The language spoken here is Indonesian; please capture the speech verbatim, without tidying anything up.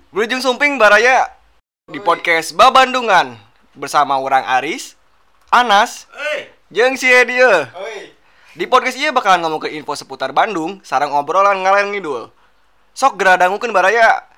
Berujung sumping baraya di podcast Babandungan bersama orang Aris, Anas, jeung si Edia. Di podcast ieu bakalan ngomongkeun info seputar Bandung sareng obrolan ngalor ngidul. Sok geradangukeun baraya.